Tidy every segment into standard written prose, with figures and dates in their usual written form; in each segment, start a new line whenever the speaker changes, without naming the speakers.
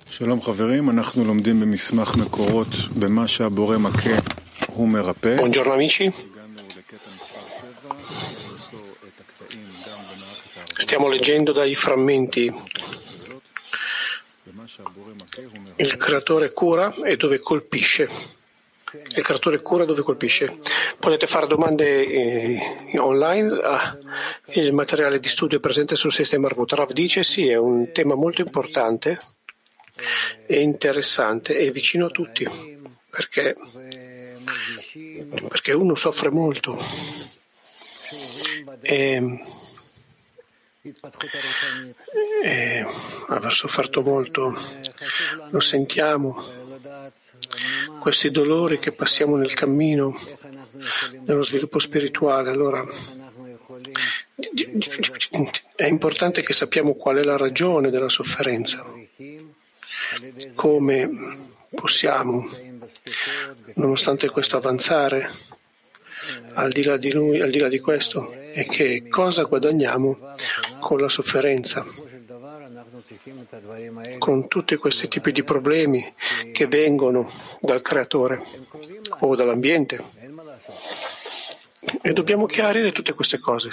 שלום חברים, אנחנו לומדים במסמך מקורות במה שהבורא מכה הוא מרפא.
Buongiorno amici, stiamo leggendo dai frammenti il creatore cura e dove colpisce. Il creatore cura dove colpisce. Potete fare domande online. Il materiale di studio è presente sul sistema Arvut. Rav dice sì, è un tema molto importante e interessante e vicino a tutti, perché uno soffre molto e aver sofferto molto lo sentiamo, questi dolori che passiamo nel cammino nello sviluppo spirituale. Allora è importante che sappiamo qual è la ragione della sofferenza, come possiamo nonostante questo avanzare al di là di lui, al di là di questo, e che cosa guadagniamo con la sofferenza, con tutti questi tipi di problemi che vengono dal creatore o dall'ambiente, e dobbiamo chiarire tutte queste cose.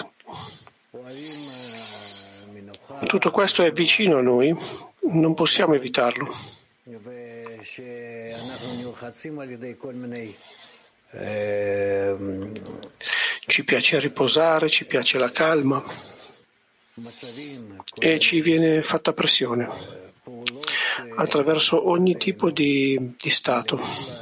Tutto questo è vicino a noi, non possiamo evitarlo. Ci piace riposare, ci piace la calma e ci viene fatta pressione attraverso ogni tipo di stato,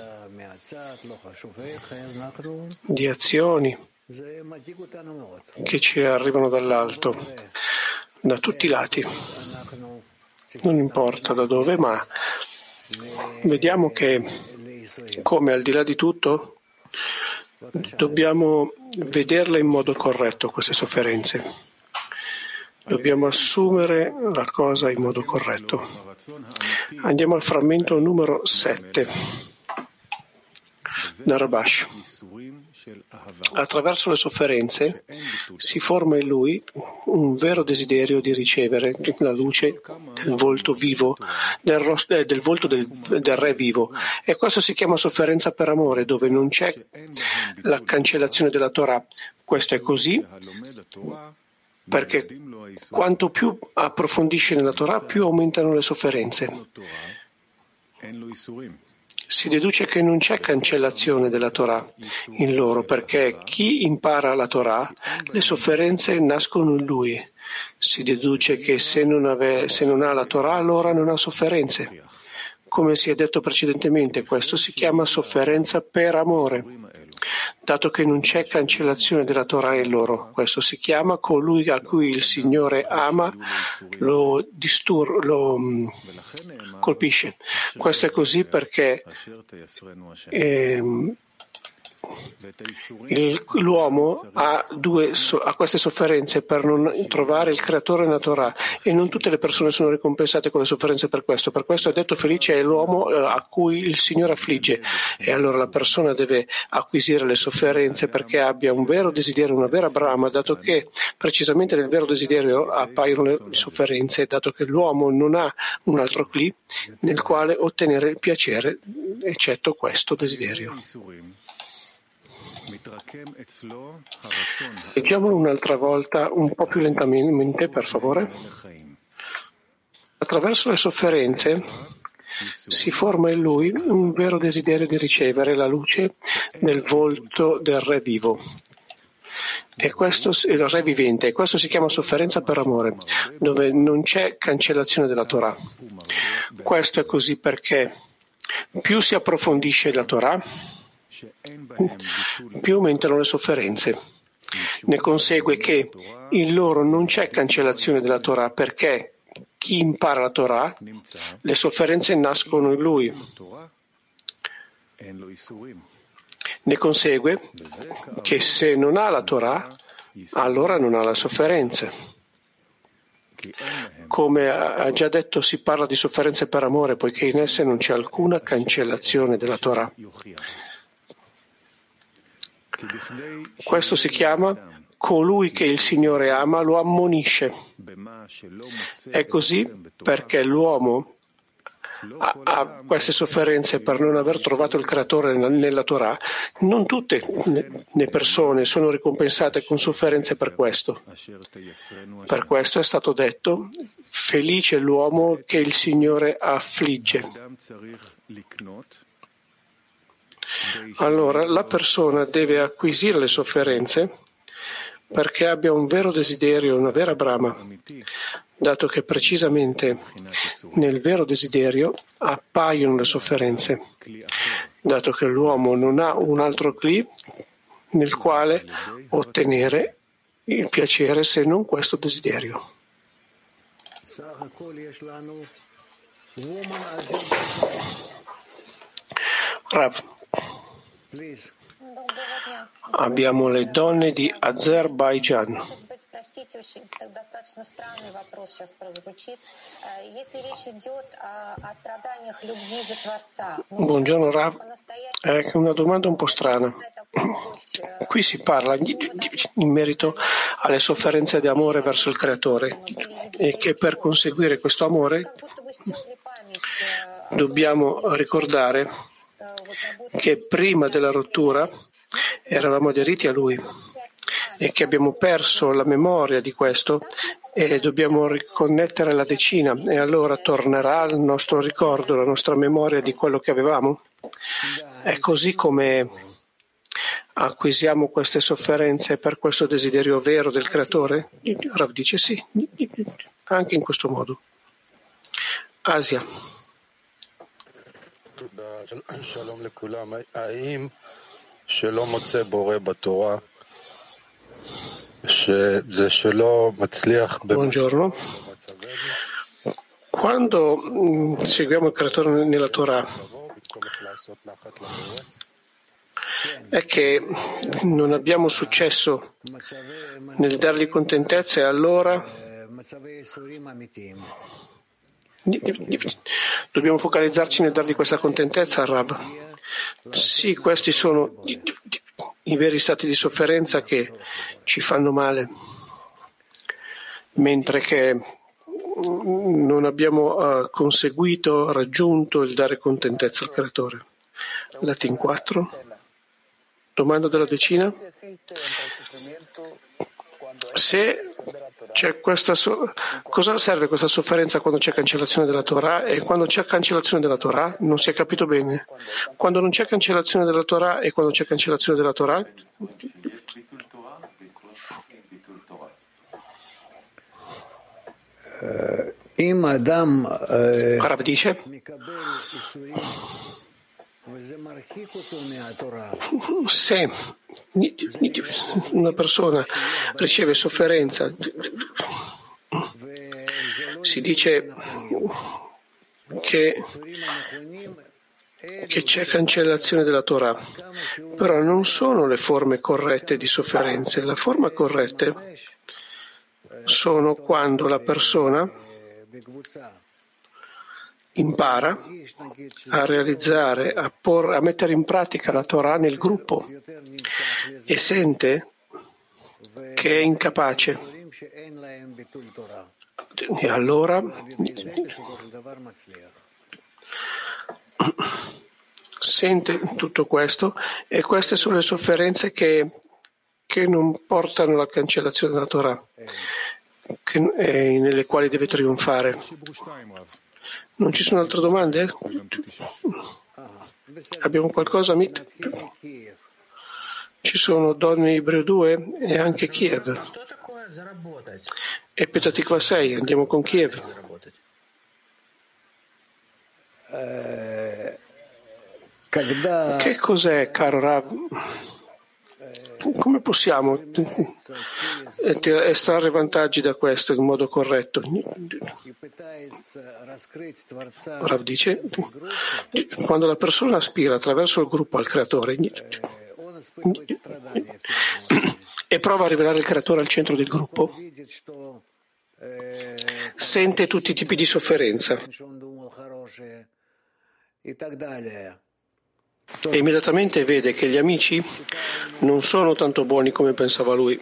di azioni che ci arrivano dall'alto, da tutti i lati, non importa da dove, ma vediamo che come al di là di tutto dobbiamo vederle in modo corretto queste sofferenze, dobbiamo assumere la cosa in modo corretto. Andiamo al frammento numero 7 da Rabash. Attraverso le sofferenze si forma in lui un vero desiderio di ricevere la luce del volto vivo, del volto del Re vivo, e questo si chiama sofferenza per amore, dove non c'è la cancellazione della Torah. Questo è così perché quanto più approfondisce nella Torah, più aumentano le sofferenze. Si deduce che non c'è cancellazione della Torah in loro, perché chi impara la Torah, le sofferenze nascono in lui. Si deduce che se non ha la Torah, allora non ha sofferenze. Come si è detto precedentemente, questo si chiama sofferenza per amore, dato che non c'è cancellazione della Torah in loro. Questo si chiama colui a cui il Signore ama, lo colpisce. Questo è così perché l'uomo ha queste sofferenze per non trovare il creatore nella Torah, e non tutte le persone sono ricompensate con le sofferenze per questo. Per questo è detto felice è l'uomo a cui il Signore affligge, e allora la persona deve acquisire le sofferenze perché abbia un vero desiderio, una vera brama, dato che precisamente nel vero desiderio appaiono le sofferenze, dato che l'uomo non ha un altro cli nel quale ottenere il piacere eccetto questo desiderio. Leggiamolo un'altra volta, un po' più lentamente, per favore. Attraverso le sofferenze si forma in lui un vero desiderio di ricevere la luce del volto del Re vivo. E questo è il Re vivente, e questo si chiama sofferenza per amore, dove non c'è cancellazione della Torah. Questo è così perché più si approfondisce la Torah, più aumentano le sofferenze. Ne consegue che in loro non c'è cancellazione della Torah, perché chi impara la Torah, le sofferenze nascono in lui. Ne consegue che se non ha la Torah, allora non ha le sofferenze. Come ha già detto, si parla di sofferenze per amore, poiché in esse non c'è alcuna cancellazione della Torah. Questo si chiama colui che il Signore ama lo ammonisce. È così perché l'uomo ha queste sofferenze per non aver trovato il creatore nella Torah, non tutte le persone sono ricompensate con sofferenze per questo. Per questo è stato detto: felice l'uomo che il Signore affligge. Allora, la persona deve acquisire le sofferenze perché abbia un vero desiderio, una vera brama, dato che precisamente nel vero desiderio appaiono le sofferenze, dato che l'uomo non ha un altro cli nel quale ottenere il piacere se non questo desiderio. Rav, abbiamo le donne di Azerbaigian. Buongiorno Rav, è una domanda un po' strana. Qui si parla in merito alle sofferenze di amore verso il Creatore e che per conseguire questo amore dobbiamo ricordare che prima della rottura eravamo aderiti a Lui e che abbiamo perso la memoria di questo e dobbiamo riconnettere la decina e allora tornerà il nostro ricordo, la nostra memoria di quello che avevamo. È così come acquisiamo queste sofferenze per questo desiderio vero del Creatore? Rav dice sì, anche in questo modo. Asia. Buongiorno. Quando seguiamo il Creatore nella Torah, è che non abbiamo successo nel dargli contentezza e allora dobbiamo focalizzarci nel dargli questa contentezza al Rab. Sì, questi sono i veri stati di sofferenza che ci fanno male, mentre che non abbiamo conseguito, raggiunto il dare contentezza al Creatore. Latin 4. Domanda della decina. Se c'è cosa serve questa sofferenza quando c'è cancellazione della Torah e quando c'è cancellazione della Torah? Non si è capito bene. Quando non c'è cancellazione della Torah e quando c'è cancellazione della Torah? Rav dice: se una persona riceve sofferenza, si dice che c'è cancellazione della Torah, però non sono le forme corrette di sofferenze. La forma corretta sono quando la persona impara a realizzare, a mettere in pratica la Torah nel gruppo e sente che è incapace. E allora sente tutto questo e queste sono le sofferenze che non portano alla cancellazione della Torah, nelle quali deve trionfare. Non ci sono altre domande? Abbiamo qualcosa? Ci sono donne Ibreo 2 e anche Kiev. E Petah Tikva 6, andiamo con Kiev. Che cos'è, caro Rav? Come possiamo estrarre vantaggi da questo in modo corretto? Rav dice, quando la persona aspira attraverso il gruppo al creatore e prova a rivelare il creatore al centro del gruppo, sente tutti i tipi di sofferenza e immediatamente vede che gli amici non sono tanto buoni come pensava lui.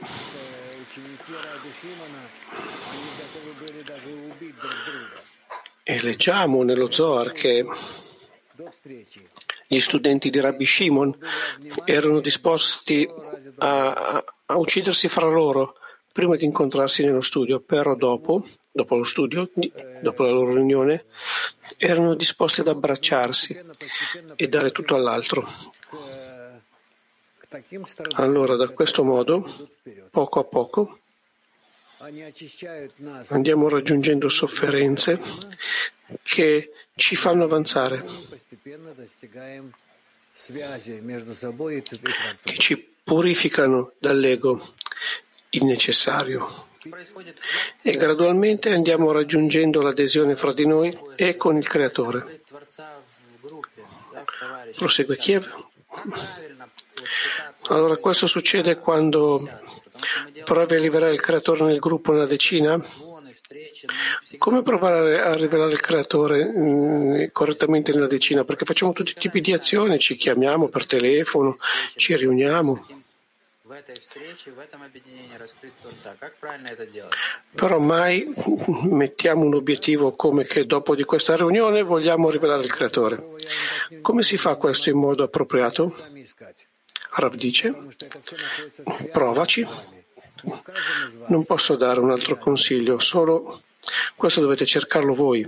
E leggiamo nello Zohar che gli studenti di Rabbi Shimon erano disposti a uccidersi fra loro prima di incontrarsi nello studio, però dopo lo studio, dopo la loro riunione, erano disposti ad abbracciarsi e dare tutto all'altro. Allora, da questo modo, poco a poco, andiamo raggiungendo sofferenze che ci fanno avanzare, che ci purificano dall'ego il necessario e gradualmente andiamo raggiungendo l'adesione fra di noi e con il Creatore. Prosegue Kiev. Allora questo succede quando provi a rivelare il Creatore nel gruppo, nella decina. Come provare a rivelare il Creatore correttamente nella decina? Perché facciamo tutti i tipi di azioni, ci chiamiamo per telefono, ci riuniamo. Però mai mettiamo un obiettivo come che dopo di questa riunione vogliamo rivelare il Creatore. Come si fa questo in modo appropriato? Rav dice, provaci. Non posso dare un altro consiglio, solo questo dovete cercarlo voi.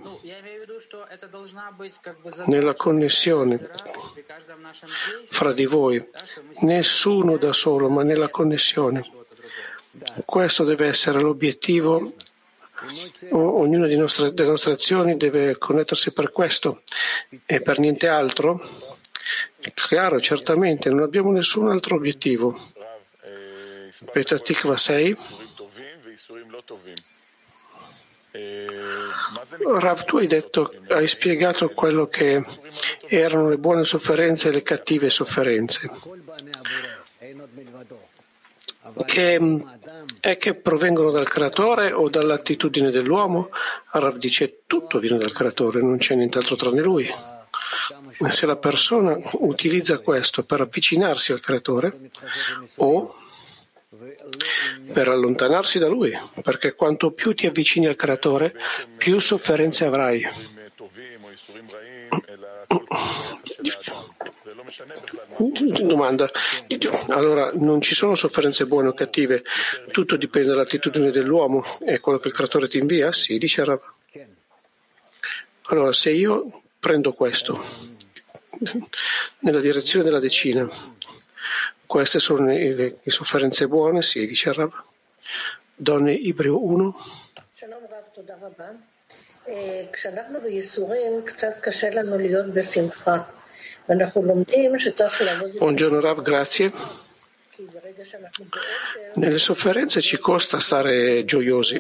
Nella connessione fra di voi, nessuno da solo, ma nella connessione. Questo deve essere l'obiettivo. Ognuna delle nostre azioni deve connettersi per questo e per niente altro. Chiaro, certamente, non abbiamo nessun altro obiettivo. Petah Tikva 6. Rav, tu hai spiegato quello che erano le buone sofferenze e le cattive sofferenze, che provengono dal Creatore o dall'attitudine dell'uomo. Rav dice tutto viene dal Creatore, non c'è nient'altro tranne Lui. Se la persona utilizza questo per avvicinarsi al Creatore o per allontanarsi da Lui, perché quanto più ti avvicini al Creatore, più sofferenze avrai. Domanda. Allora, non ci sono sofferenze buone o cattive, tutto dipende dall'attitudine dell'uomo e quello che il Creatore ti invia? Sì, dice Rav. Allora, se io prendo questo nella direzione della decina, queste sono le sofferenze buone? Sì, dice Rav. Donne Ibreo 1. Buongiorno Rav, grazie. Nelle sofferenze ci costa stare gioiosi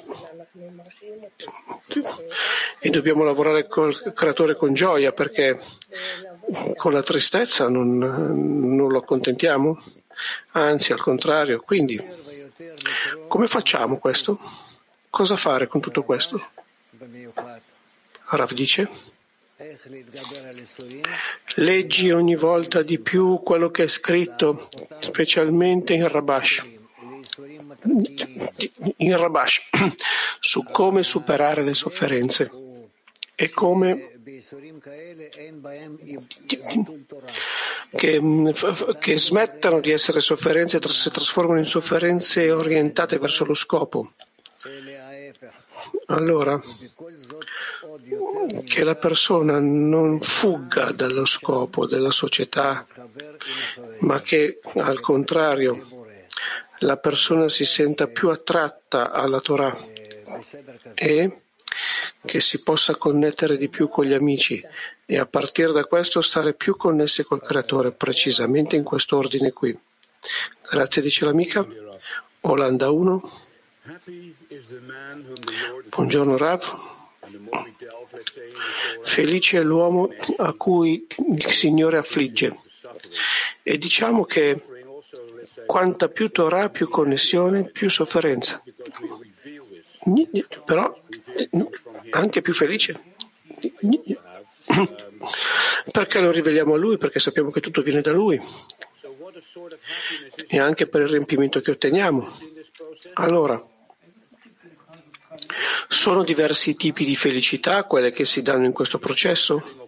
e dobbiamo lavorare col Creatore con gioia, perché con la tristezza non lo accontentiamo, anzi al contrario. Quindi come facciamo questo? Cosa fare con tutto questo? Rav dice: leggi ogni volta di più quello che è scritto, specialmente in Rabash, su come superare le sofferenze e come che smettano di essere sofferenze e si trasformano in sofferenze orientate verso lo scopo. Allora, che la persona non fugga dallo scopo della società, ma che al contrario la persona si senta più attratta alla Torah e che si possa connettere di più con gli amici e a partire da questo stare più connessi col Creatore, precisamente in quest'ordine qui. Grazie, dice l'amica. Olanda 1. Buongiorno Rav. Felice è l'uomo a cui il Signore affligge. E diciamo che quanta più Torah, più connessione, più sofferenza. Però anche più felice. Perché lo riveliamo a Lui? Perché sappiamo che tutto viene da Lui. E anche per il riempimento che otteniamo. Allora, Sono diversi tipi di felicità quelle che si danno in questo processo?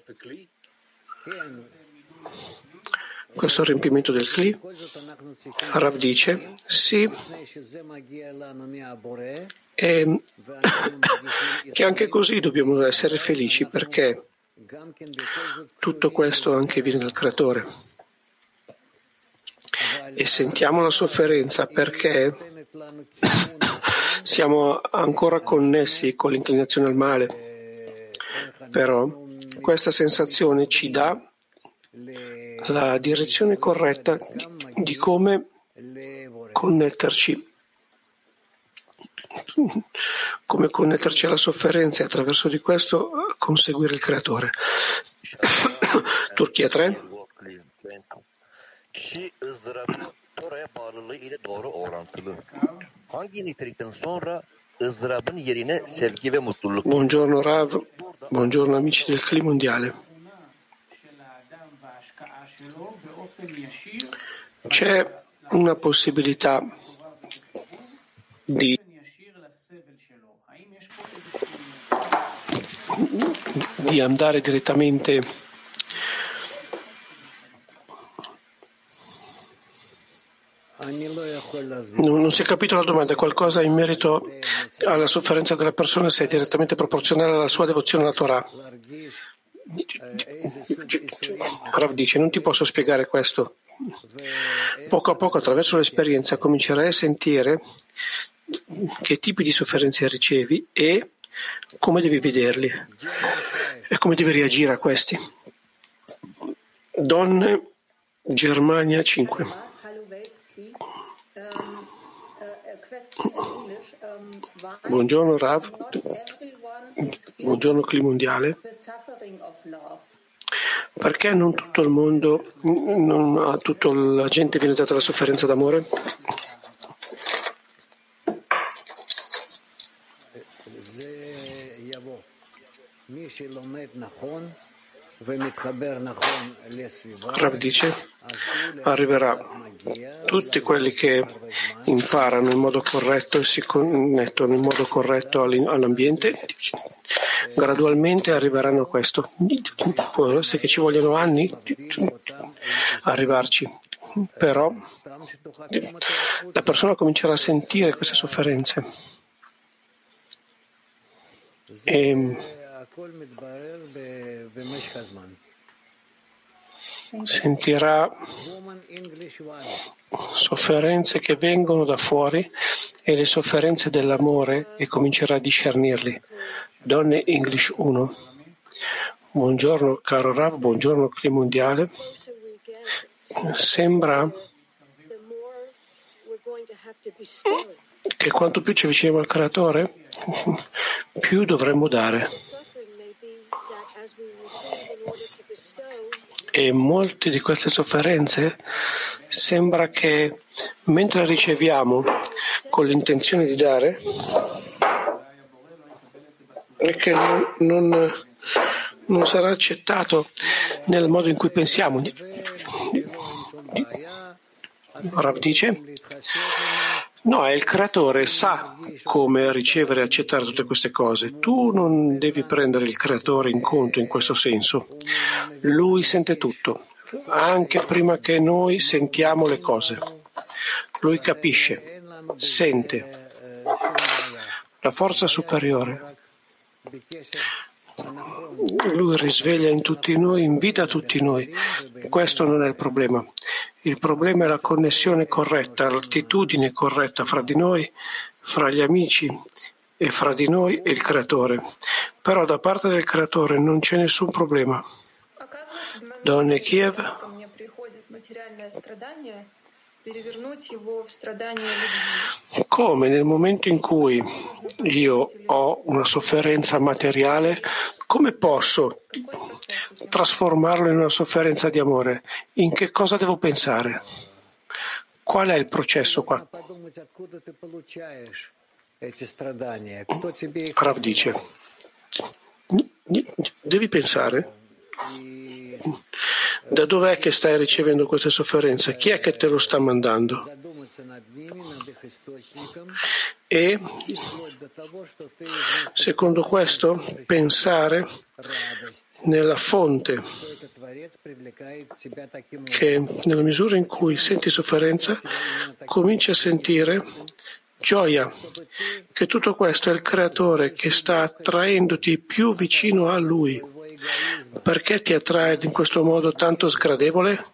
Questo è il riempimento del Kli? Rav dice, sì, e che anche così dobbiamo essere felici perché tutto questo anche viene dal Creatore. E sentiamo la sofferenza perché siamo ancora connessi con l'inclinazione al male, però questa sensazione ci dà la direzione corretta di come connetterci alla sofferenza e attraverso di questo conseguire il Creatore. Turchia 3.
Kişi ızdırabı Tora'ya bağlılığı ile doğru orantılı. Hangi nitelikten sonra ızdırabın yerine sevgi ve mutluluk?
Buongiorno Rav, buongiorno amici del Kli mondiale. C'è una possibilità di andare direttamente non si è capito la domanda, qualcosa in merito alla sofferenza della persona se è direttamente proporzionale alla sua devozione alla Torah. Rav dice, non ti posso spiegare questo. Poco a poco attraverso l'esperienza comincerai a sentire che tipi di sofferenze ricevi e come devi vederli e come devi reagire a questi. Donne, Germania 5. Buongiorno Rav, buongiorno Kli mondiale. Perché non tutto il mondo, a tutta la gente viene data la sofferenza d'amore? Rav dice, arriverà tutti quelli che imparano in modo corretto e si connettono in modo corretto all'ambiente, gradualmente arriveranno a questo. Può essere che ci vogliono anni arrivarci, però la persona comincerà a sentire queste sofferenze e sentirà sofferenze che vengono da fuori e le sofferenze dell'amore e comincerà a discernirli. Donne English 1. Buongiorno caro Rav, buongiorno Kli mondiale. Sembra che quanto più ci avviciniamo al Creatore, più dovremmo dare. E molte di queste sofferenze sembra che mentre riceviamo con l'intenzione di dare, e che non sarà accettato nel modo in cui pensiamo. Rav dice, no, è il Creatore, sa come ricevere e accettare tutte queste cose. Tu non devi prendere il Creatore in conto in questo senso. Lui sente tutto, anche prima che noi sentiamo le cose. Lui capisce, sente. La forza superiore. Lui risveglia in tutti noi, invita tutti noi. Questo non è il problema. Il problema è la connessione corretta, l'attitudine corretta fra di noi, fra gli amici e fra di noi e il Creatore. Però da parte del Creatore non c'è nessun problema. Donne Kiev. Come nel momento in cui io ho una sofferenza materiale, come posso trasformarlo in una sofferenza di amore? In che cosa devo pensare? Qual è il processo qua? Rav dice, devi pensare da dov'è che stai ricevendo queste sofferenze? Chi è che te lo sta mandando? e secondo questo pensare nella fonte, che nella misura in cui senti sofferenza cominci a sentire gioia, che tutto questo è il creatore che sta attraendoti più vicino a lui. Perché ti attrae in questo modo tanto sgradevole?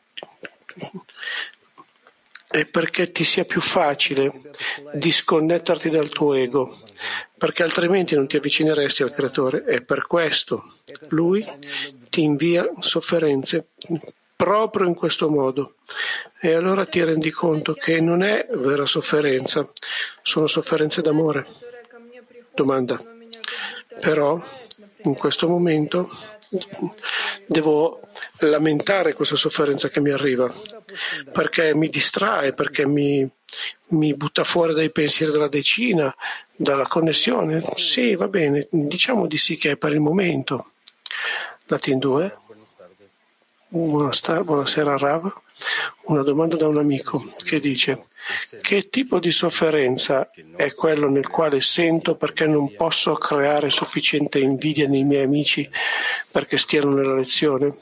E perché ti sia più facile disconnetterti dal tuo ego, perché altrimenti non ti avvicineresti al creatore, e per questo lui ti invia sofferenze proprio in questo modo. E allora ti rendi conto che non è vera sofferenza, sono sofferenze d'amore. Domanda. Però in questo momento devo lamentare questa sofferenza che mi arriva, perché mi distrae, perché mi butta fuori dai pensieri della decina, dalla connessione. Sì, va bene, diciamo di sì che è per il momento. Latin 2. Buonasera Rav. Una domanda da un amico che dice: che tipo di sofferenza è quello nel quale sento perché non posso creare sufficiente invidia nei miei amici perché stiano nella lezione?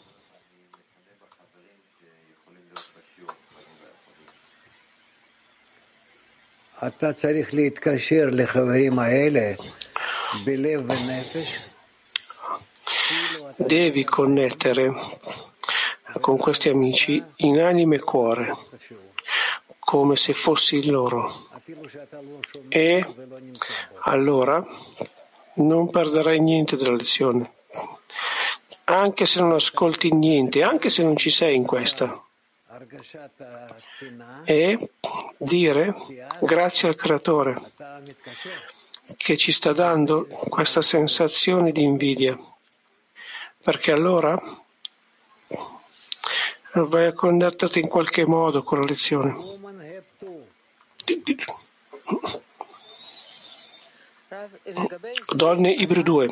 Devi connettere con questi amici in anima e cuore, come se fossi loro, e allora non perderai niente della lezione, anche se non ascolti niente, anche se non ci sei in questa. E dire grazie al creatore che ci sta dando questa sensazione di invidia, perché allora vai a connetterti in qualche modo con la lezione. Donne Ibru 2.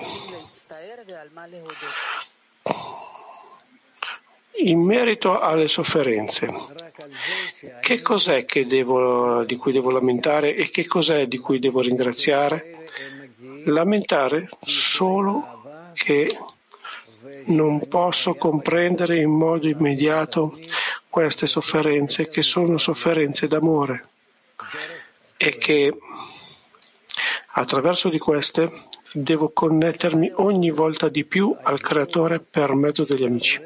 In merito alle sofferenze, che cos'è di cui devo lamentare e che cos'è di cui devo ringraziare? Lamentare solo che non posso comprendere in modo immediato queste sofferenze, che sono sofferenze d'amore, e che attraverso di queste devo connettermi ogni volta di più al creatore per mezzo degli amici.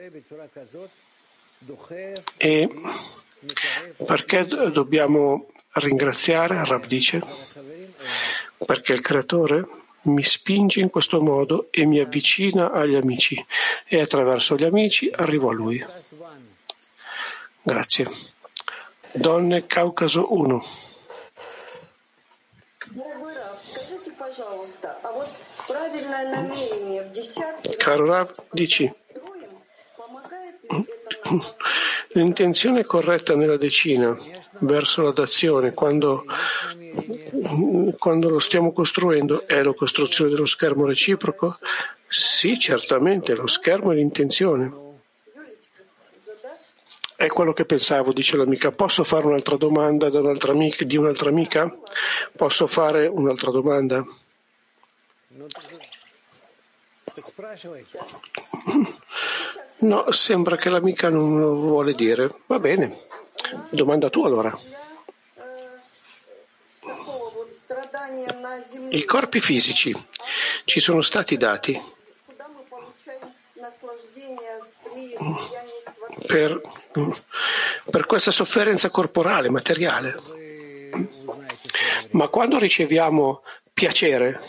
E perché dobbiamo ringraziare? Rav dice, perché il creatore mi spinge in questo modo e mi avvicina agli amici, e attraverso gli amici arrivo a lui. Grazie. Donne Caucaso 1. Caro Rav, dici, l'intenzione corretta nella decina verso la dazione quando lo stiamo costruendo è la costruzione dello schermo reciproco? Sì, certamente, lo schermo è l'intenzione. È quello che pensavo, dice l'amica. Posso fare un'altra domanda di un'altra amica? Posso fare un'altra domanda? No, sembra che l'amica non lo vuole dire. Va bene. Domanda tu allora. I corpi fisici ci sono stati dati per questa sofferenza corporale, materiale. Ma quando riceviamo piacere,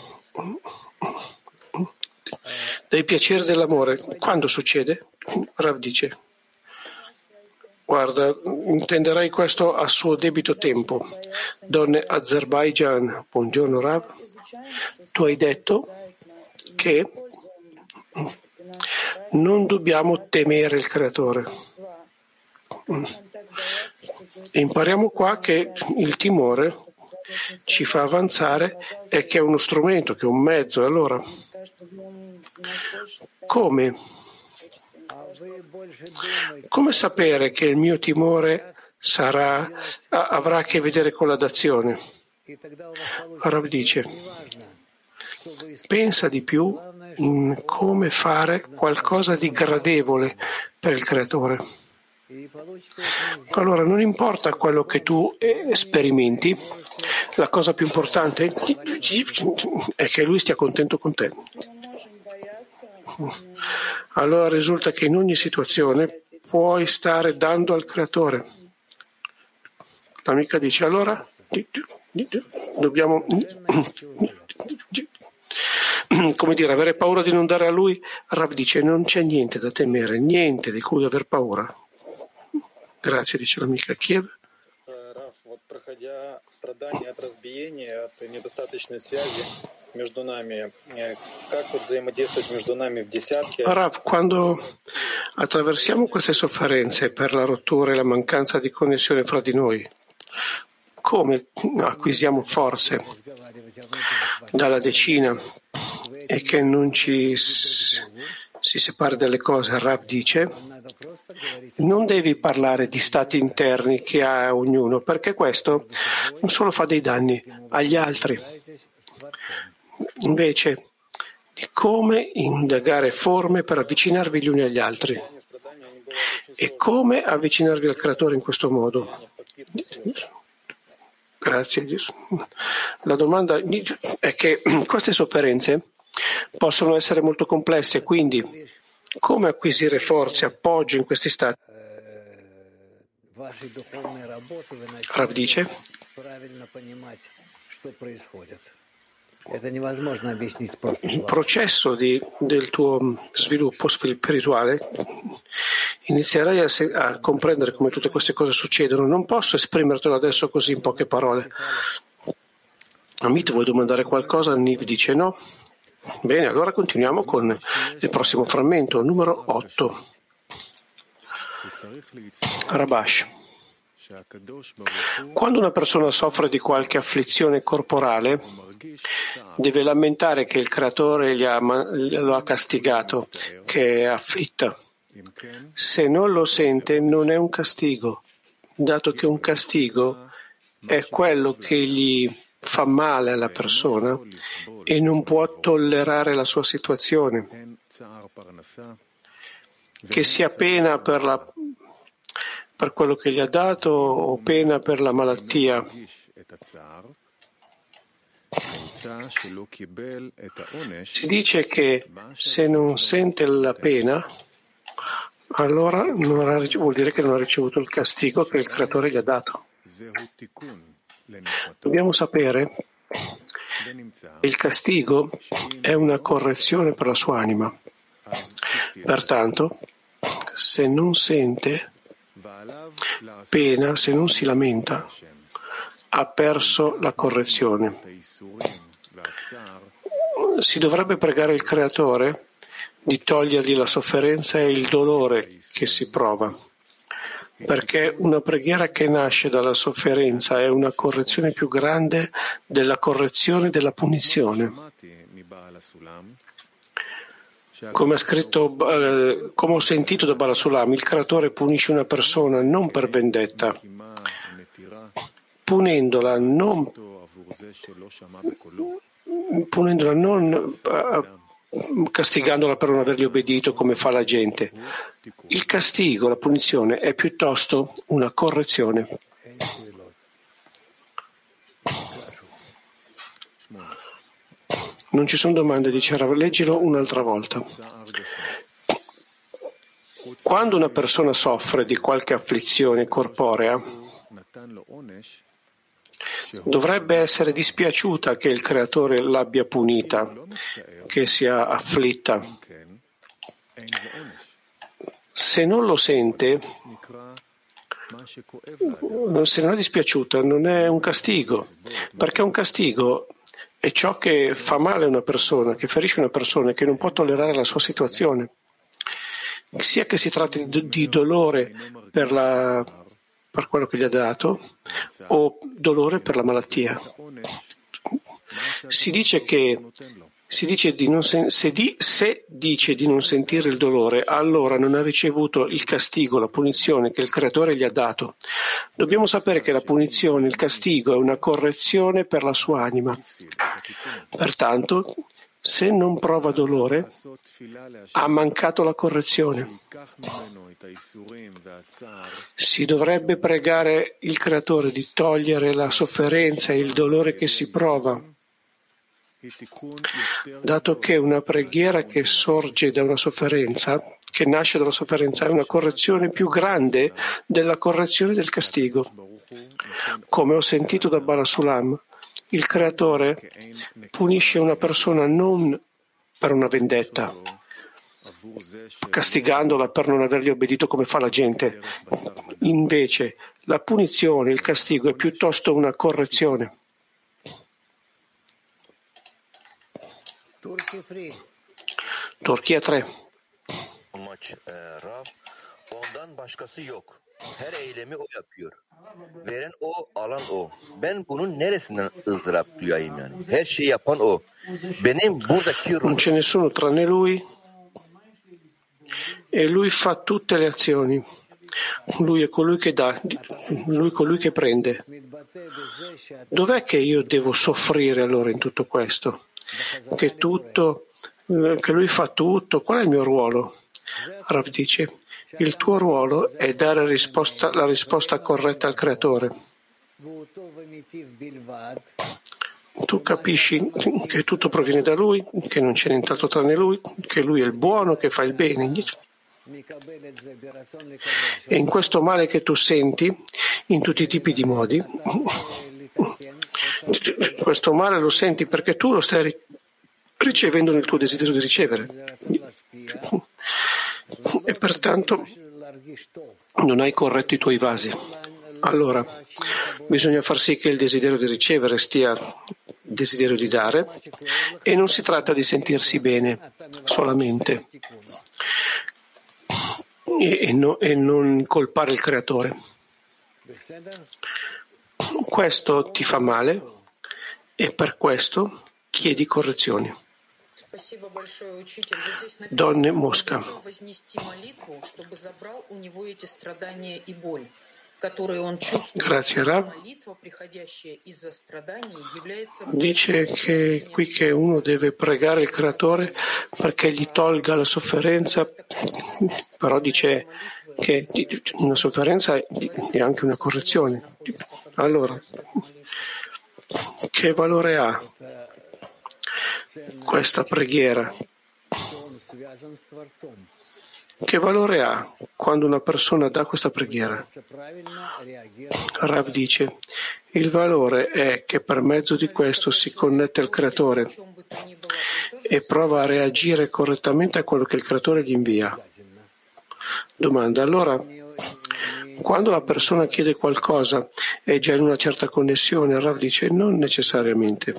dei piaceri dell'amore, quando succede? Rav dice, guarda, intenderei questo a suo debito tempo. Donne Azerbaijan, buongiorno Rav, tu hai detto che non dobbiamo temere il creatore. Impariamo qua che il timore ci fa avanzare e che è uno strumento, che è un mezzo. Allora, come sapere che il mio timore avrà a che vedere con la dazione? Rav dice, pensa di più in come fare qualcosa di gradevole per il Creatore. Allora non importa quello che tu sperimenti, la cosa più importante è che Lui stia contento con te. Allora risulta che in ogni situazione puoi stare dando al Creatore. L'amica dice, allora dobbiamo, come dire, avere paura di non dare a Lui. Rav dice, non c'è niente da temere, niente di cui aver paura. Grazie, dice l'amica Kiev.
Проходя страдания от разбиения, от недостаточной связи между нами, как вот взаимодействовать между нами в десятке?
Rav, quando attraversiamo queste sofferenze per la rottura e la mancanza di connessione fra di noi, come acquisiamo forze dalla decina e che non ci si separa dalle cose? Rav dice, non devi parlare di stati interni che ha ognuno, perché questo non solo fa dei danni agli altri. Invece di come indagare forme per avvicinarvi gli uni agli altri e come avvicinarvi al Creatore in questo modo. Grazie. La domanda è che queste sofferenze possono essere molto complesse, quindi come acquisire forze, appoggio in questi stati? Rav dice, il processo del tuo sviluppo spirituale inizierai a comprendere come tutte queste cose succedono. Non posso esprimertelo adesso così in poche parole. Amit, vuoi domandare qualcosa? Niv dice no. Bene, allora continuiamo con il prossimo frammento, numero 8. Rabash. Quando una persona soffre di qualche afflizione corporale, deve lamentare che il Creatore lo ha castigato, che è afflitta. Se non lo sente, non è un castigo, dato che un castigo è quello che gli fa male alla persona e non può tollerare la sua situazione, che sia pena per quello che gli ha dato o pena per la malattia. Si dice che se non sente la pena, allora vuol dire che non ha ricevuto il castigo che il Creatore gli ha dato. Dobbiamo sapere che il castigo è una correzione per la sua anima. Pertanto, se non sente pena, se non si lamenta, ha perso la correzione. Si dovrebbe pregare il Creatore di togliergli la sofferenza e il dolore che si prova, perché una preghiera che nasce dalla sofferenza è una correzione più grande della correzione della punizione. Come ho sentito da Bala Sulam, il Creatore punisce una persona non per vendetta, punendola non castigandola per non avergli obbedito come fa la gente. Il castigo, la punizione, è piuttosto una correzione. Non ci sono domande, dice Rav, leggilo un'altra volta. Quando una persona soffre di qualche afflizione corporea, dovrebbe essere dispiaciuta che il Creatore l'abbia punita, che sia afflitta. Se non lo sente, se non è dispiaciuta, non è un castigo, perché un castigo è ciò che fa male a una persona, che ferisce una persona e che non può tollerare la sua situazione, sia che si tratti di dolore per quello che gli ha dato o dolore per la malattia. Si dice che Se dice di non sentire il dolore, allora non ha ricevuto il castigo, la punizione che il Creatore gli ha dato. Dobbiamo sapere che la punizione, il castigo è una correzione per la sua anima. Pertanto, se non prova dolore, ha mancato la correzione. Si dovrebbe pregare il Creatore di togliere la sofferenza e il dolore che si prova, dato che una preghiera che sorge da una sofferenza, che nasce dalla sofferenza, è una correzione più grande della correzione del castigo. Come ho sentito da Barasulam, il Creatore punisce una persona non per una vendetta, castigandola per non avergli obbedito come fa la gente. Invece, la punizione, il castigo è piuttosto una correzione. Turchia 3.
Ondan başkası yok. Her eylemi o yapıyor. Veren o, alan o. Ben bunun neresinden ızdırap duyayım yani? Her şeyi yapan o. Benim buradaki
Non c'è nessuno tranne lui e lui fa tutte le azioni. Lui è colui che dà, lui è colui che prende. Dov'è che io devo soffrire allora in tutto questo? Che lui fa tutto, qual è il mio ruolo? Rav dice, il tuo ruolo è dare la risposta corretta al Creatore. Tu capisci che tutto proviene da Lui, che non c'è nient'altro tranne Lui, che Lui è il buono, che fa il bene. E in questo male che tu senti, in tutti i tipi di modi, questo male lo senti perché tu lo stai ricevendo nel tuo desiderio di ricevere. E pertanto non hai corretto i tuoi vasi. Allora, bisogna far sì che il desiderio di ricevere stia desiderio di dare, e non si tratta di sentirsi bene solamente e non colpare il Creatore. Questo ti fa male e per questo chiedi correzioni. Donne Mosca. Grazie Rav. Dice che qui che uno deve pregare il Creatore perché gli tolga la sofferenza, però dice che una sofferenza è anche una correzione. Allora, che valore ha questa preghiera? Che valore ha quando una persona dà questa preghiera? Rav dice, il valore è che per mezzo di questo si connette al Creatore e prova a reagire correttamente a quello che il Creatore gli invia. Domanda, allora, quando la persona chiede qualcosa è già in una certa connessione? Rav dice, non necessariamente.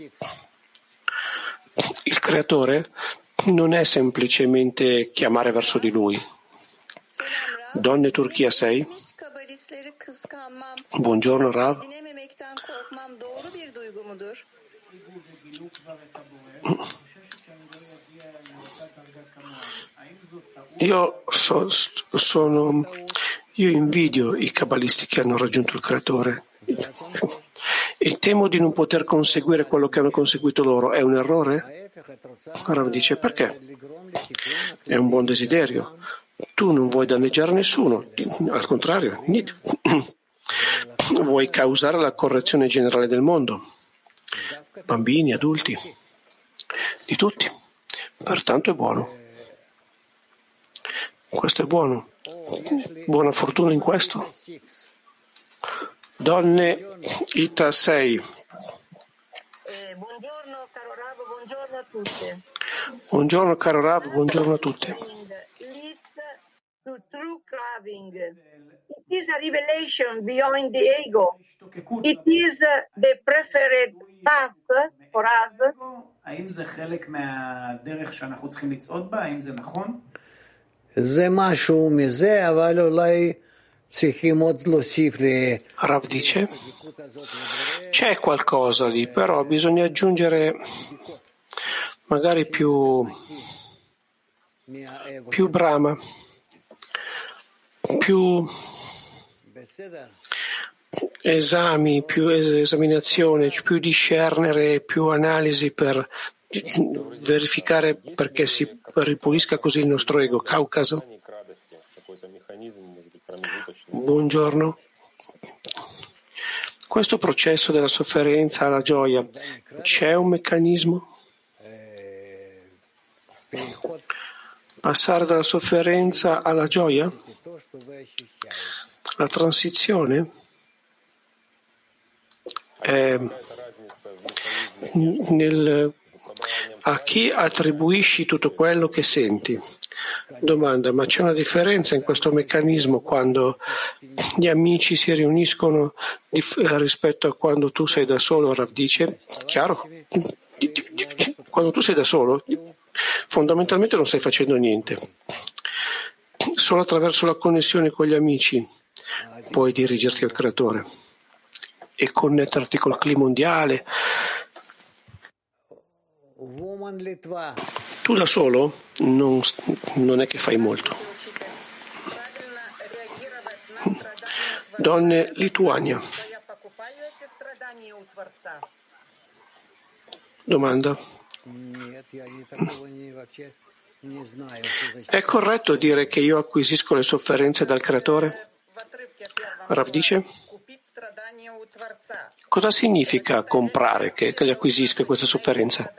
Il Creatore non è semplicemente chiamare verso di Lui. Donne Turchia 6. Buongiorno Rav. Io invidio i cabalisti che hanno raggiunto il Creatore e temo di non poter conseguire quello che hanno conseguito loro. È un errore? Rav dice, perché? È un buon desiderio. Tu non vuoi danneggiare nessuno, al contrario, vuoi causare la correzione generale del mondo, bambini, adulti, di tutti. Pertanto è buono. Questo è buono. Buona fortuna in questo. Donne Ita 6.
Buongiorno caro Rav, buongiorno a tutte.
Buongiorno caro Rav, buongiorno a tutti.
To true carving. It is a revelation beyond the ego. It is the preferred path for us.
האם זה חלק מהדרך שאנחנו צריכים לצעוד בה? האם זה נכון?
זה משהו מזה, אבל אולי צריכים עוד להוסיף
Rav dice, c'è qualcosa lì, però bisogna aggiungere magari più brama, più esami, più esaminazione, più discernere, più analisi per verificare perché si ripulisca così il nostro ego. Caucaso. Buongiorno. Questo processo della sofferenza alla gioia, c'è un meccanismo? Passare dalla sofferenza alla gioia? La transizione? A chi attribuisci tutto quello che senti? Domanda, ma c'è una differenza in questo meccanismo quando gli amici si riuniscono rispetto a quando tu sei da solo? Rav dice, chiaro? Quando tu sei da solo, fondamentalmente non stai facendo niente. Solo attraverso la connessione con gli amici puoi dirigerti al Creatore e connetterti col clima mondiale. Tu da solo non è che fai molto. Donne Lituania. Domanda. È corretto dire che io acquisisco le sofferenze dal Creatore? Rav dice. Cosa significa comprare che gli acquisisca queste sofferenze?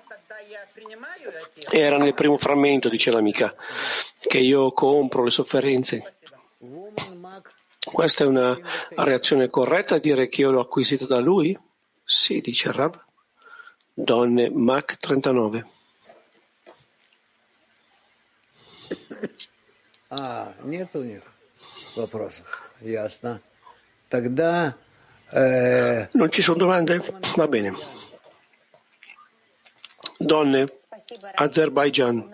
Era nel primo frammento, dice l'amica, che io compro le sofferenze. Questa è una reazione corretta a dire che io l'ho acquisito da lui? Sì, dice Rav. Donne Mach 39.
Нет у них вопросов. Ясно. Тогда
non ci sono domande? Va bene. Donne, Azerbaijan.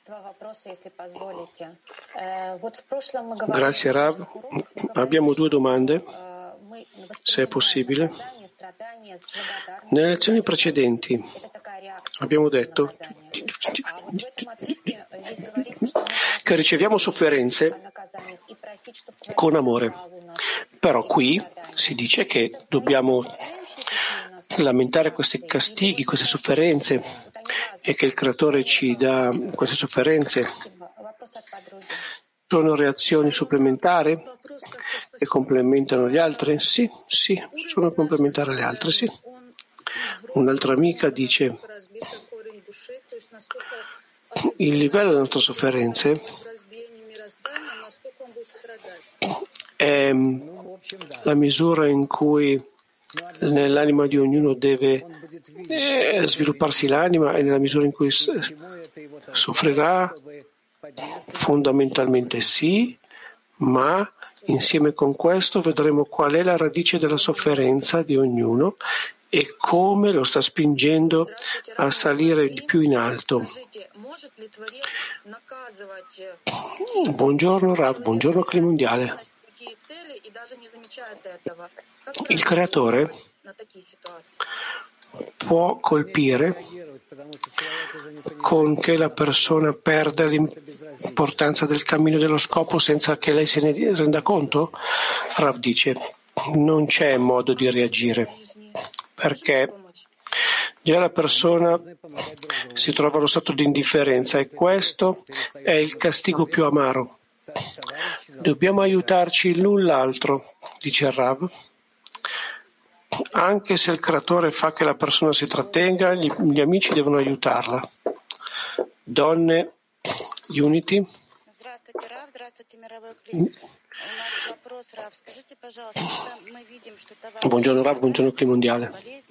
Grazie Rav. Abbiamo 2 domande, se è possibile. Nelle lezioni precedenti abbiamo detto che riceviamo sofferenze con amore, però qui si dice che dobbiamo lamentare questi castighi, queste sofferenze e che il Creatore ci dà queste sofferenze. Sono reazioni supplementari che complementano gli altri? Sì, sono complementari alle altre, sì. Un'altra amica dice: il livello delle nostre sofferenze è la misura in cui nell'anima di ognuno deve svilupparsi l'anima e nella misura in cui soffrirà, fondamentalmente sì, ma insieme con questo vedremo qual è la radice della sofferenza di ognuno e come lo sta spingendo a salire di più in alto. Buongiorno Rav, buongiorno Clima Mondiale. Il Creatore può colpire con che la persona perda l'importanza del cammino dello scopo senza che lei se ne renda conto? Rav dice, non c'è modo di reagire, perché già la persona si trova allo stato di indifferenza e questo è il castigo più amaro. Dobbiamo aiutarci l'un l'altro, dice Rav. Anche se il Creatore fa che la persona si trattenga, gli amici devono aiutarla. Donne, Unity. Buongiorno Rav, buongiorno Clima Mondiale.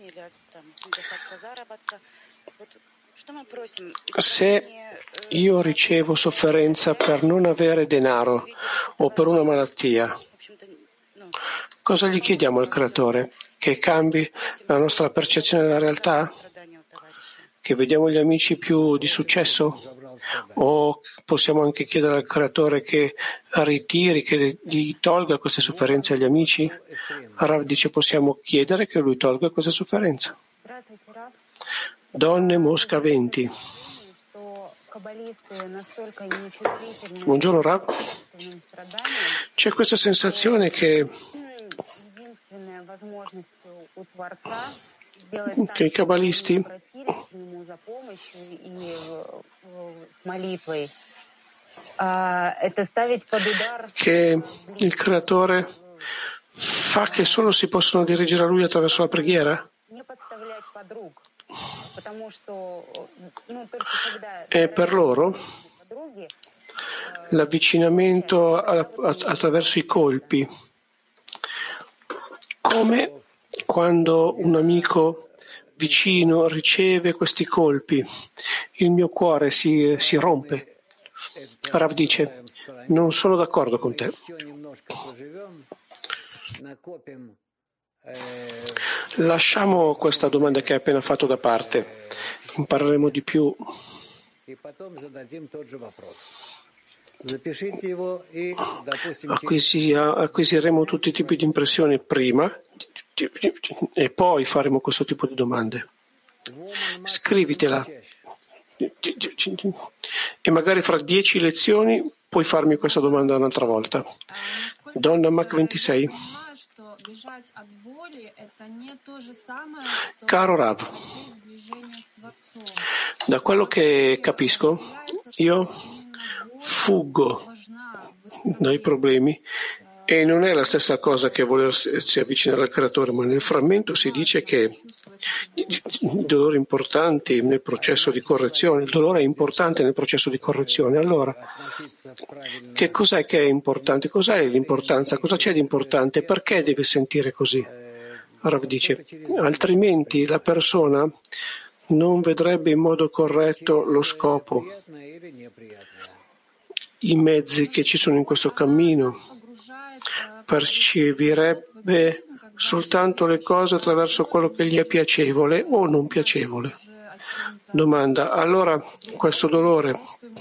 Se io ricevo sofferenza per non avere denaro o per una malattia, cosa gli chiediamo al Creatore? Che cambi la nostra percezione della realtà? Che vediamo gli amici più di successo? O possiamo anche chiedere al Creatore che ritiri, che gli tolga queste sofferenze agli amici? Rav dice possiamo chiedere che lui tolga queste sofferenze. Donne Mosca 20. Buongiorno Rav. C'è questa sensazione che i cabalisti che il creatore fa che solo si possono dirigere a lui attraverso la preghiera? E per loro l'avvicinamento attraverso i colpi, come quando un amico vicino riceve questi colpi, il mio cuore si rompe. Rav dice, non sono d'accordo con te. Lasciamo questa domanda che hai appena fatto da parte, impareremo di più. Acquisiremo tutti i tipi di impressioni prima e poi faremo questo tipo di domande. Scrivitela e magari fra 10 lezioni puoi farmi questa domanda un'altra volta. Donna Mac 26. Caro Rav, da quello che capisco, io fuggo dai problemi e non è la stessa cosa che volersi avvicinare al creatore, ma nel frammento si dice che i dolori importanti nel processo di correzione, il dolore è importante nel processo di correzione. Allora, che cos'è che è importante? Cos'è l'importanza? Cosa c'è di importante? Perché deve sentire così? Rav dice, altrimenti la persona non vedrebbe in modo corretto lo scopo, i mezzi che ci sono in questo cammino, percepirebbe soltanto le cose attraverso quello che gli è piacevole o non piacevole. Domanda, allora questo dolore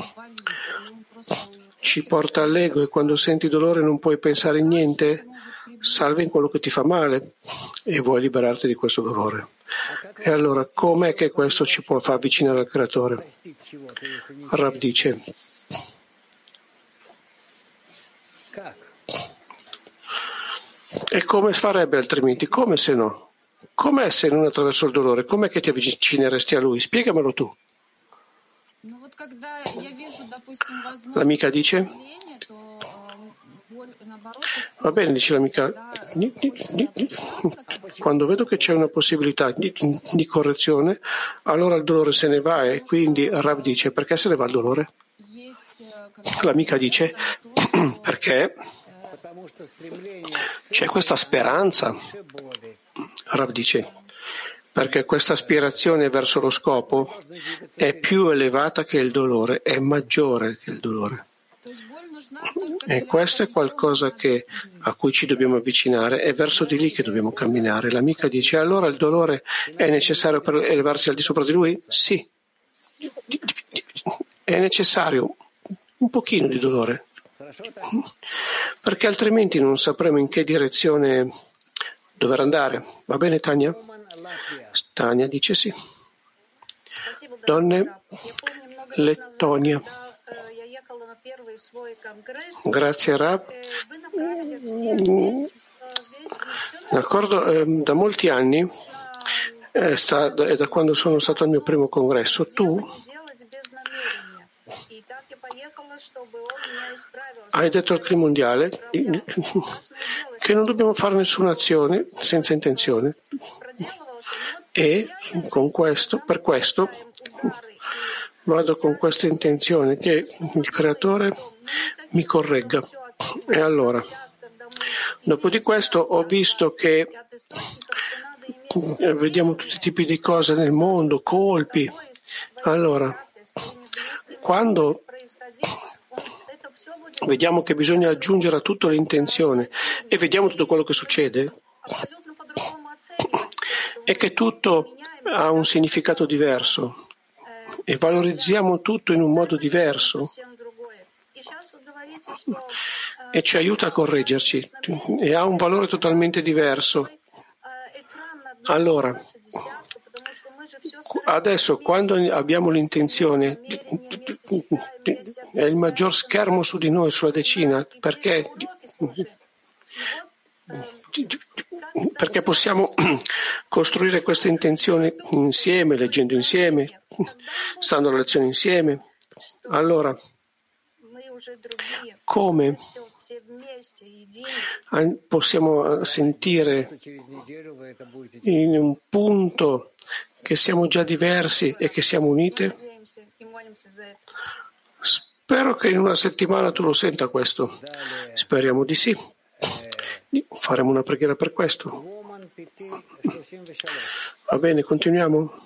ci porta all'ego e quando senti dolore non puoi pensare in niente? Salva in quello che ti fa male e vuoi liberarti di questo dolore. E allora com'è che questo ci può far avvicinare al creatore? Rav dice, e come farebbe altrimenti? Come se no? Com'è se non attraverso il dolore? Com'è che ti avvicineresti a lui? Spiegamelo tu. L'amica dice, va bene, dice l'amica, quando vedo che c'è una possibilità di correzione, allora il dolore se ne va e quindi Rav dice, perché se ne va il dolore? L'amica dice, perché c'è questa speranza. Rav dice, perché questa aspirazione verso lo scopo è più elevata che il dolore, è maggiore che il dolore. E questo è qualcosa a cui ci dobbiamo avvicinare, è verso di lì che dobbiamo camminare. L'amica dice, allora il dolore è necessario per elevarsi al di sopra di lui? Sì, è necessario un pochino di dolore, perché altrimenti non sapremo in che direzione dover andare. Va bene, Tania? Tania dice sì. Donne, Lettonia. Grazie Rav. D'accordo, da molti anni, da quando sono stato al mio primo congresso, tu hai detto al CRI mondiale che non dobbiamo fare nessuna azione senza intenzione e per questo vado con questa intenzione che il creatore mi corregga. E allora, dopo di questo ho visto che vediamo tutti i tipi di cose nel mondo, colpi. Allora, quando vediamo che bisogna aggiungere a tutto l'intenzione e vediamo tutto quello che succede, è che tutto ha un significato diverso e valorizziamo tutto in un modo diverso e ci aiuta a correggerci e ha un valore totalmente diverso. Allora, Adesso, quando abbiamo l'intenzione, è il maggior schermo su di noi, sulla decina, perché possiamo costruire queste intenzioni insieme, leggendo insieme, stando alla lezione insieme. Allora, come possiamo sentire in un punto che siamo già diversi e che siamo uniti? Spero che in una settimana tu lo senta questo. Speriamo di sì. Faremo una preghiera per questo. Va bene, continuiamo.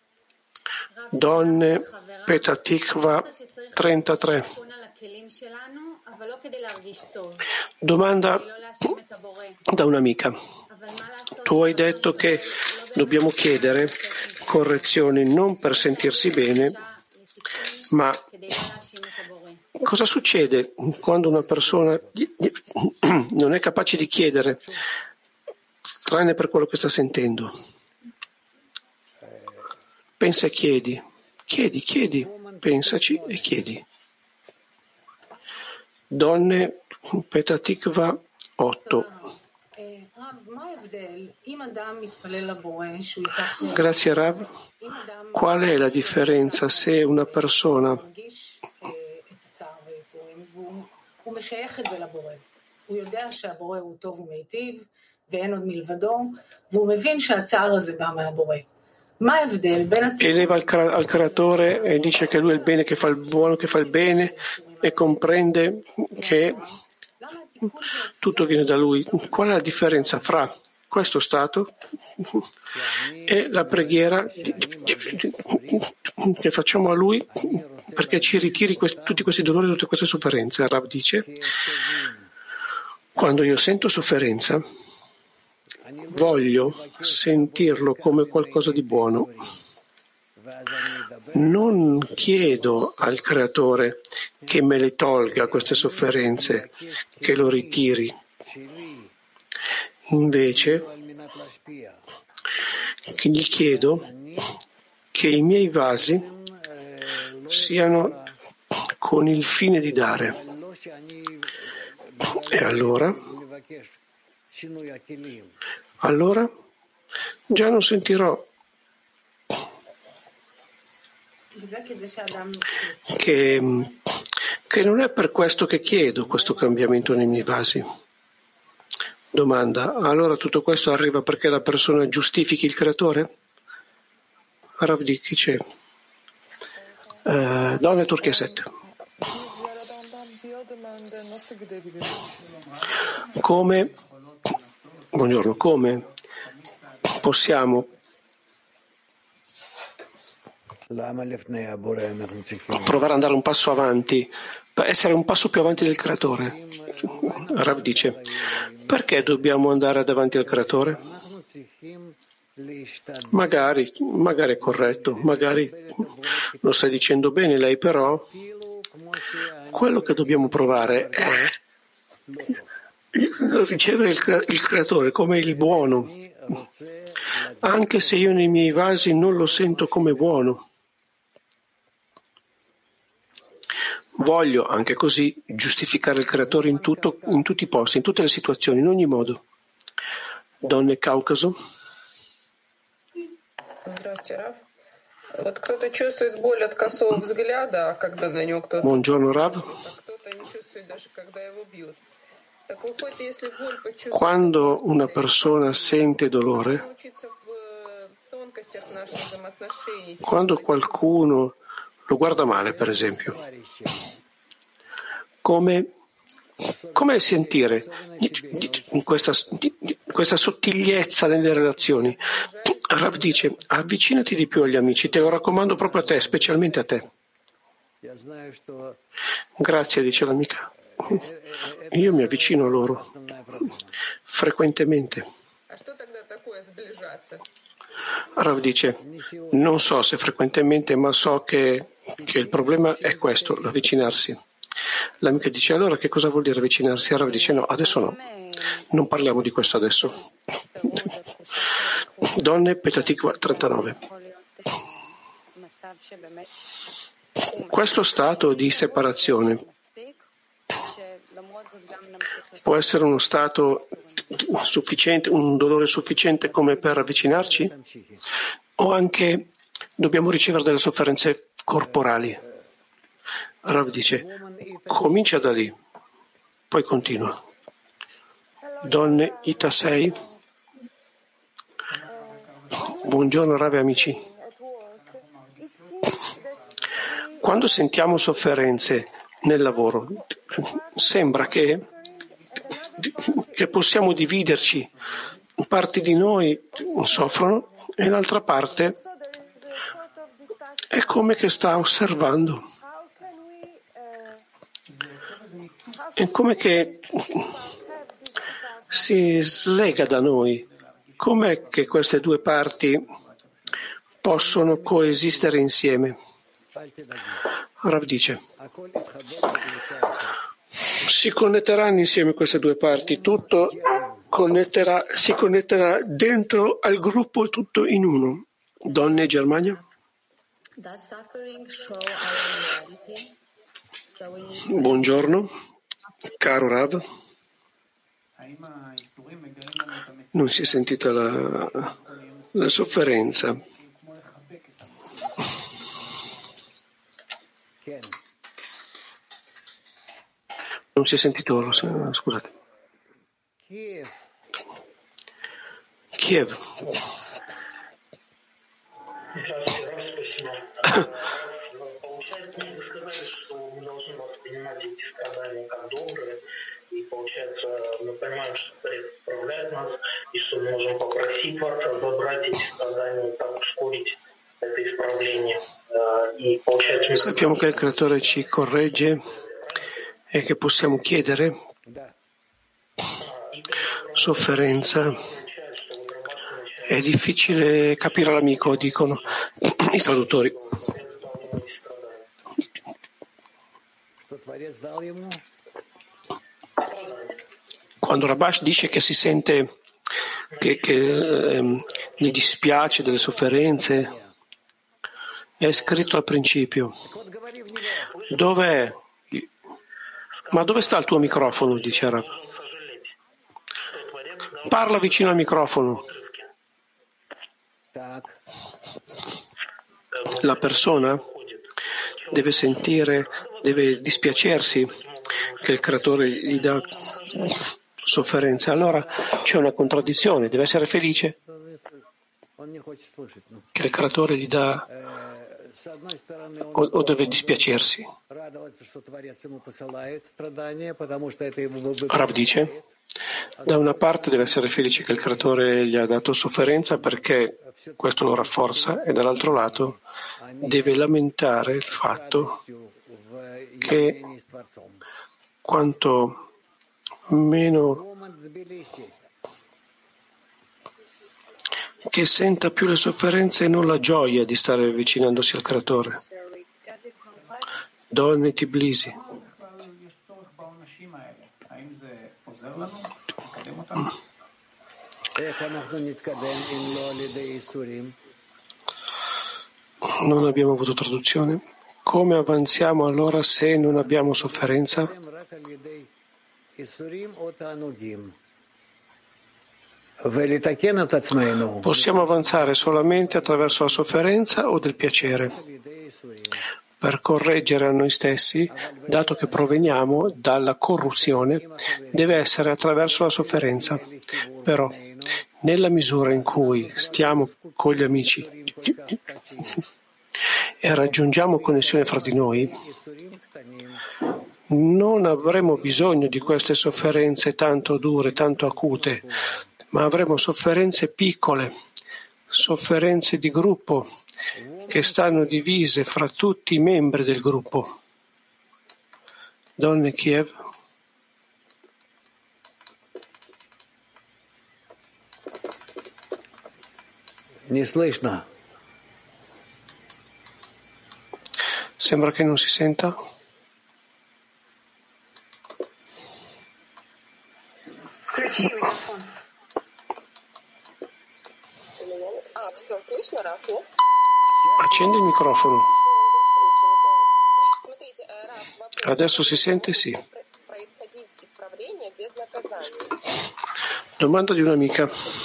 Donne, Petah Tikva 33. Domanda da un'amica. Tu hai detto che dobbiamo chiedere correzioni non per sentirsi bene, ma cosa succede quando una persona non è capace di chiedere, tranne per quello che sta sentendo? Pensa e chiedi, pensaci e chiedi. Donne, Petah Tikva 8. Grazie Rav. Qual è la differenza se una persona eleva al creatore e dice che lui è il bene che fa il buono, che fa il bene e comprende che tutto viene da lui? Qual è la differenza fra questo stato e la preghiera che facciamo a lui perché ci ritiri tutti questi dolori, tutte queste sofferenze? Rav dice: quando io sento sofferenza voglio sentirlo come qualcosa di buono. Non chiedo al creatore che me le tolga queste sofferenze, che lo ritiri. Invece gli chiedo che i miei vasi siano con il fine di dare. E allora già non sentirò che non è per questo che chiedo questo cambiamento nei miei vasi. Domanda: allora tutto questo arriva perché la persona giustifichi il creatore? Rav dice, Donne Turchia 7. Buongiorno, come possiamo provare ad andare un passo avanti, per essere un passo più avanti del creatore? Rav dice, perché dobbiamo andare davanti al creatore? Magari è corretto, magari lo stai dicendo bene lei, però quello che dobbiamo provare è ricevere il creatore come il buono, anche se io nei miei vasi non lo sento come buono. Voglio anche così giustificare il creatore in tutti i posti, in tutte le situazioni, in ogni modo. Donne Caucaso. Buongiorno Rav. Quando una persona sente dolore, quando qualcuno lo guarda male, per esempio, come sentire questa sottigliezza nelle relazioni? Rav dice, avvicinati di più agli amici, te lo raccomando proprio a te, specialmente a te. Grazie, dice l'amica. Io mi avvicino a loro frequentemente. Rav dice, non so se frequentemente, ma so che il problema è questo, l'avvicinarsi. L'amica dice, allora che cosa vuol dire avvicinarsi? Rav dice, no, adesso no, non parliamo di questo adesso. Donne, Petah Tikva 39. Questo stato di separazione può essere uno stato sufficiente, un dolore sufficiente come per avvicinarci? O anche dobbiamo ricevere delle sofferenze corporali? Rav dice, comincia da lì, poi continua. Donne Ita 6. Buongiorno Rav e amici. Quando sentiamo sofferenze nel lavoro, sembra che possiamo dividerci. Parti di noi soffrono e l'altra parte è come che sta osservando. È come che si slega da noi. Com'è che queste due parti possono coesistere insieme? Rav dice, si connetteranno insieme queste due parti, tutto si connetterà dentro al gruppo, tutto in uno. Donne Germania? Buongiorno, caro Rav. Non si è sentita la sofferenza. Non si è sentito, scusate. Kiev.
И получается, мы понимаем, что Творец исправляет нас, и что мы можем попросить Творца забрать эти страдания, так ускорить это исправление. И получается,
sappiamo che il Creatore ci corregge e che possiamo chiedere sofferenza. È difficile capire l'amico, dicono i traduttori. Quando Rabash dice che si sente che gli dispiace delle sofferenze, è scritto al principio. Dov'è? Ma dove sta il tuo microfono? Dice Rab. Parla vicino al microfono. La persona deve sentire, deve dispiacersi che il Creatore gli dà sofferenza. Allora c'è una contraddizione, deve essere felice che il Creatore gli dà o deve dispiacersi. Rav dice, da una parte deve essere felice che il Creatore gli ha dato sofferenza perché questo lo rafforza, e dall'altro lato deve lamentare il fatto che quanto meno che senta più le sofferenze e non la gioia di stare avvicinandosi al Creatore. Donne Tbilisi. Non abbiamo avuto traduzione. Come avanziamo allora se non abbiamo sofferenza? Possiamo avanzare solamente attraverso la sofferenza o del piacere per correggere a noi stessi, dato che proveniamo dalla corruzione, deve essere attraverso la sofferenza. Però, nella misura in cui stiamo con gli amici e raggiungiamo connessione fra di noi, non avremo bisogno di queste sofferenze tanto dure, tanto acute, ma avremo sofferenze piccole, sofferenze di gruppo che stanno divise fra tutti i membri del gruppo. Donne Kiev. Sembra che non si senta. Accendi il microfono. Adesso si sente? Sì. Domanda di un'amica.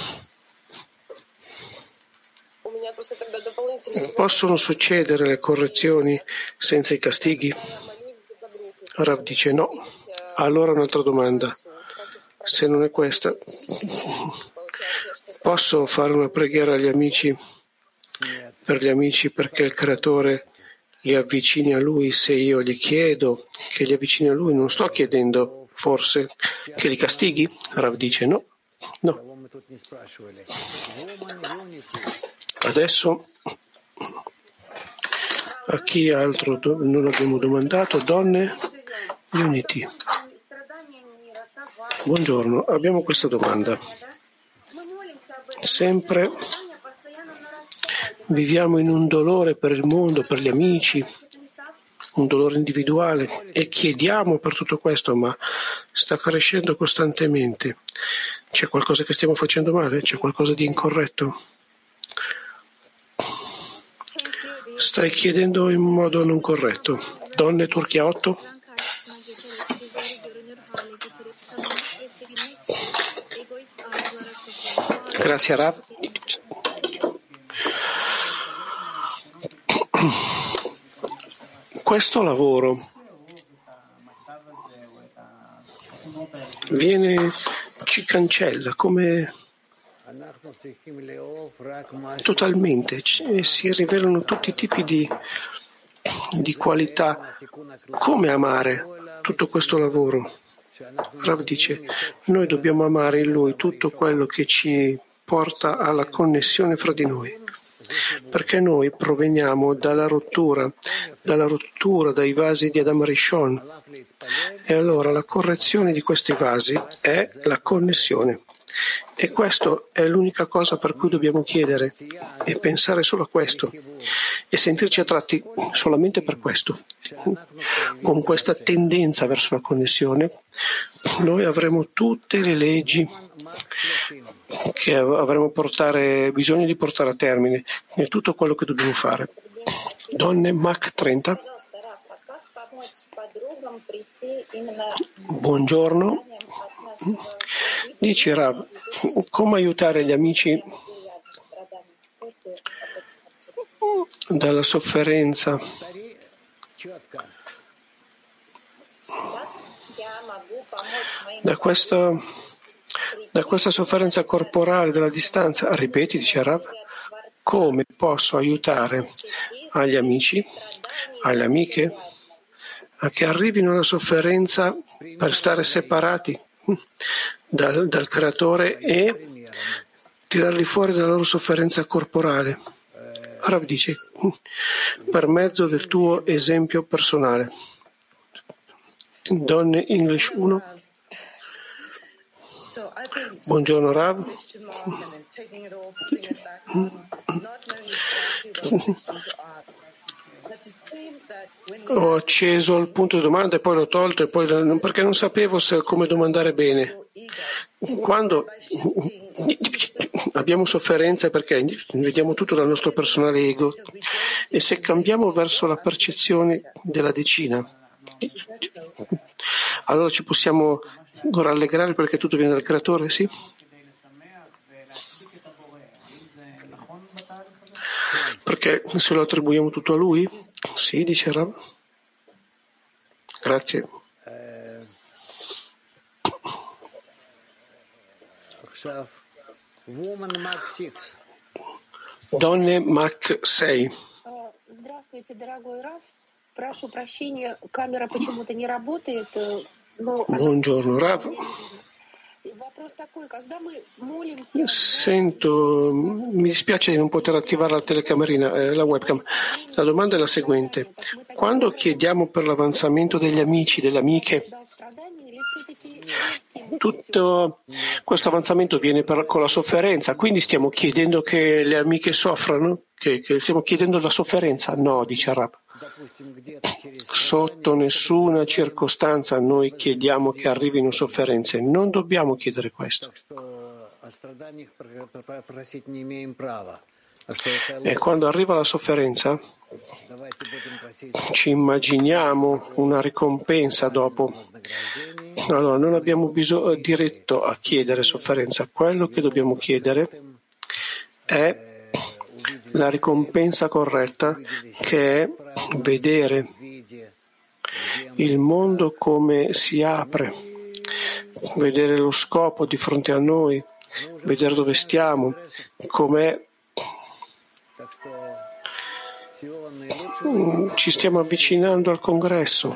Possono succedere le correzioni senza i castighi? Rav dice no. Allora un'altra domanda. Se non è questa, posso fare una preghiera agli amici, per gli amici, perché il Creatore li avvicini a Lui? Se io gli chiedo che li avvicini a Lui, non sto chiedendo forse che li castighi? Rav dice no. Adesso a chi altro non abbiamo domandato? Donne Unity. Buongiorno, abbiamo questa domanda. Sempre viviamo in un dolore per il mondo, per gli amici, un dolore individuale, e chiediamo per tutto questo, ma sta crescendo costantemente. C'è qualcosa che stiamo facendo male? C'è qualcosa di incorretto? Stai chiedendo in modo non corretto. Donne Turchia 8. Grazie Rav. Questo lavoro ci cancella come totalmente, si rivelano tutti i tipi di qualità. Come amare tutto questo lavoro? Rav dice, noi dobbiamo amare in Lui tutto quello che ci porta alla connessione fra di noi, perché noi proveniamo dalla rottura dai vasi di Adam Rishon, e allora la correzione di questi vasi è la connessione. E questo è l'unica cosa per cui dobbiamo chiedere e pensare solo a questo e sentirci attratti solamente per questo. Con questa tendenza verso la connessione noi avremo tutte le leggi che avremo bisogno di portare a termine e tutto quello che dobbiamo fare. Donne Mach 30. Buongiorno. Dice Rav, come aiutare gli amici dalla sofferenza? Da questa sofferenza corporale, della distanza. Ripeti, dice Rav, come posso aiutare agli amici, alle amiche, a che arrivino alla sofferenza per stare separati dal Creatore e tirarli fuori dalla loro sofferenza corporale? Rav dice, per mezzo del tuo esempio personale. Donne English 1. Buongiorno Rav. Ho acceso il punto di domanda e poi l'ho tolto perché non sapevo come domandare bene. Quando abbiamo sofferenze perché vediamo tutto dal nostro personale ego, e se cambiamo verso la percezione della decina, allora ci possiamo rallegrare perché tutto viene dal Creatore, sì? Perché se lo attribuiamo tutto a Lui? Sì, dice Rav. Grazie. Donne Mach 6.
Здравствуйте, дорогой Раф. Прошу прощения, камера почему-то не работает.
Buongiorno Rav. Mi dispiace di non poter attivare la telecamerina, la webcam. La domanda è la seguente. Quando chiediamo per l'avanzamento degli amici, delle amiche, tutto questo avanzamento viene con la sofferenza, quindi stiamo chiedendo che le amiche soffrano? Che stiamo chiedendo la sofferenza? No, dice Rav. Sotto nessuna circostanza noi chiediamo che arrivino sofferenze, non dobbiamo chiedere questo. E quando arriva la sofferenza, ci immaginiamo una ricompensa dopo. Allora, non abbiamo diritto a chiedere sofferenza. Quello che dobbiamo chiedere è la ricompensa corretta, che è vedere il mondo come si apre, vedere lo scopo di fronte a noi, vedere dove stiamo, com'è. Ci stiamo avvicinando al congresso,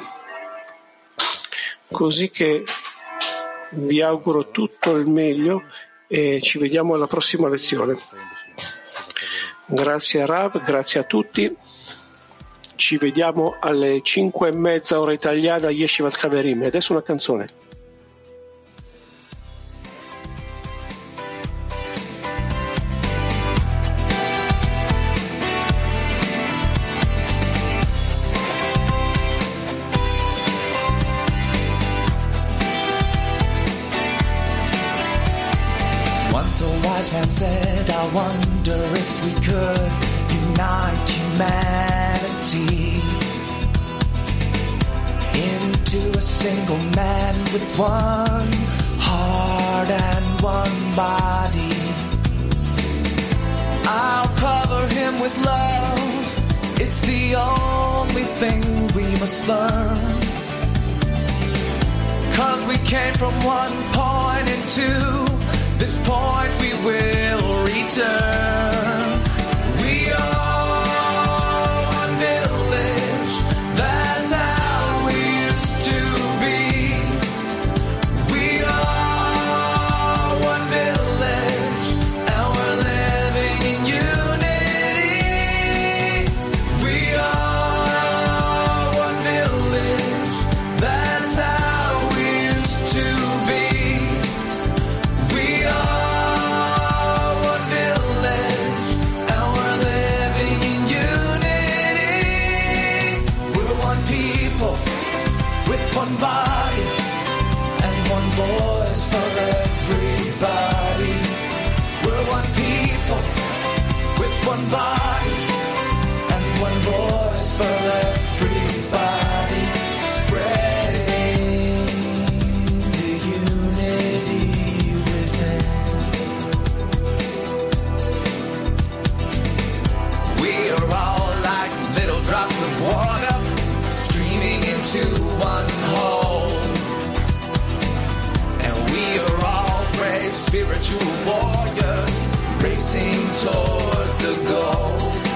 così che vi auguro tutto il meglio e ci vediamo alla prossima lezione. Grazie a Rav, grazie a tutti. Ci vediamo alle 5:30 ora italiana a Yeshivat Chaverim. E adesso una canzone.
Once a wise man said, I wonder if we could unite humanity into a single man with one heart and one body. I'll cover him with love. It's the only thing we must learn. 'Cause we came from one point and to this point we will return. We are one village, that's how we used to be. We are one village, and we're living in unity. We are one village, that's how we used to be. We are one village, and we're living in unity. We're one people with one body and one voice for everybody. We're one people with one body and one voice for everybody. Spreading the unity within. We are all like little drops of water streaming into one hole. And we are all brave spiritual warriors racing toward the goal.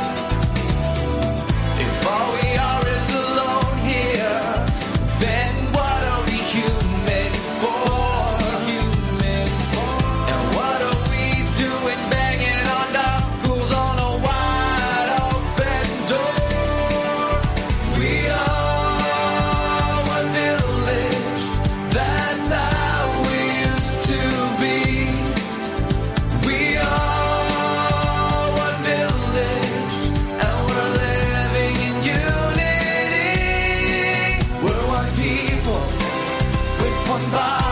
If all we are is alone here, then what are we human for? And what are we doing banging on knuckles on a wide open door? We are one village, that's how we used to be. We are one village, and we're living in unity. We're one people with one body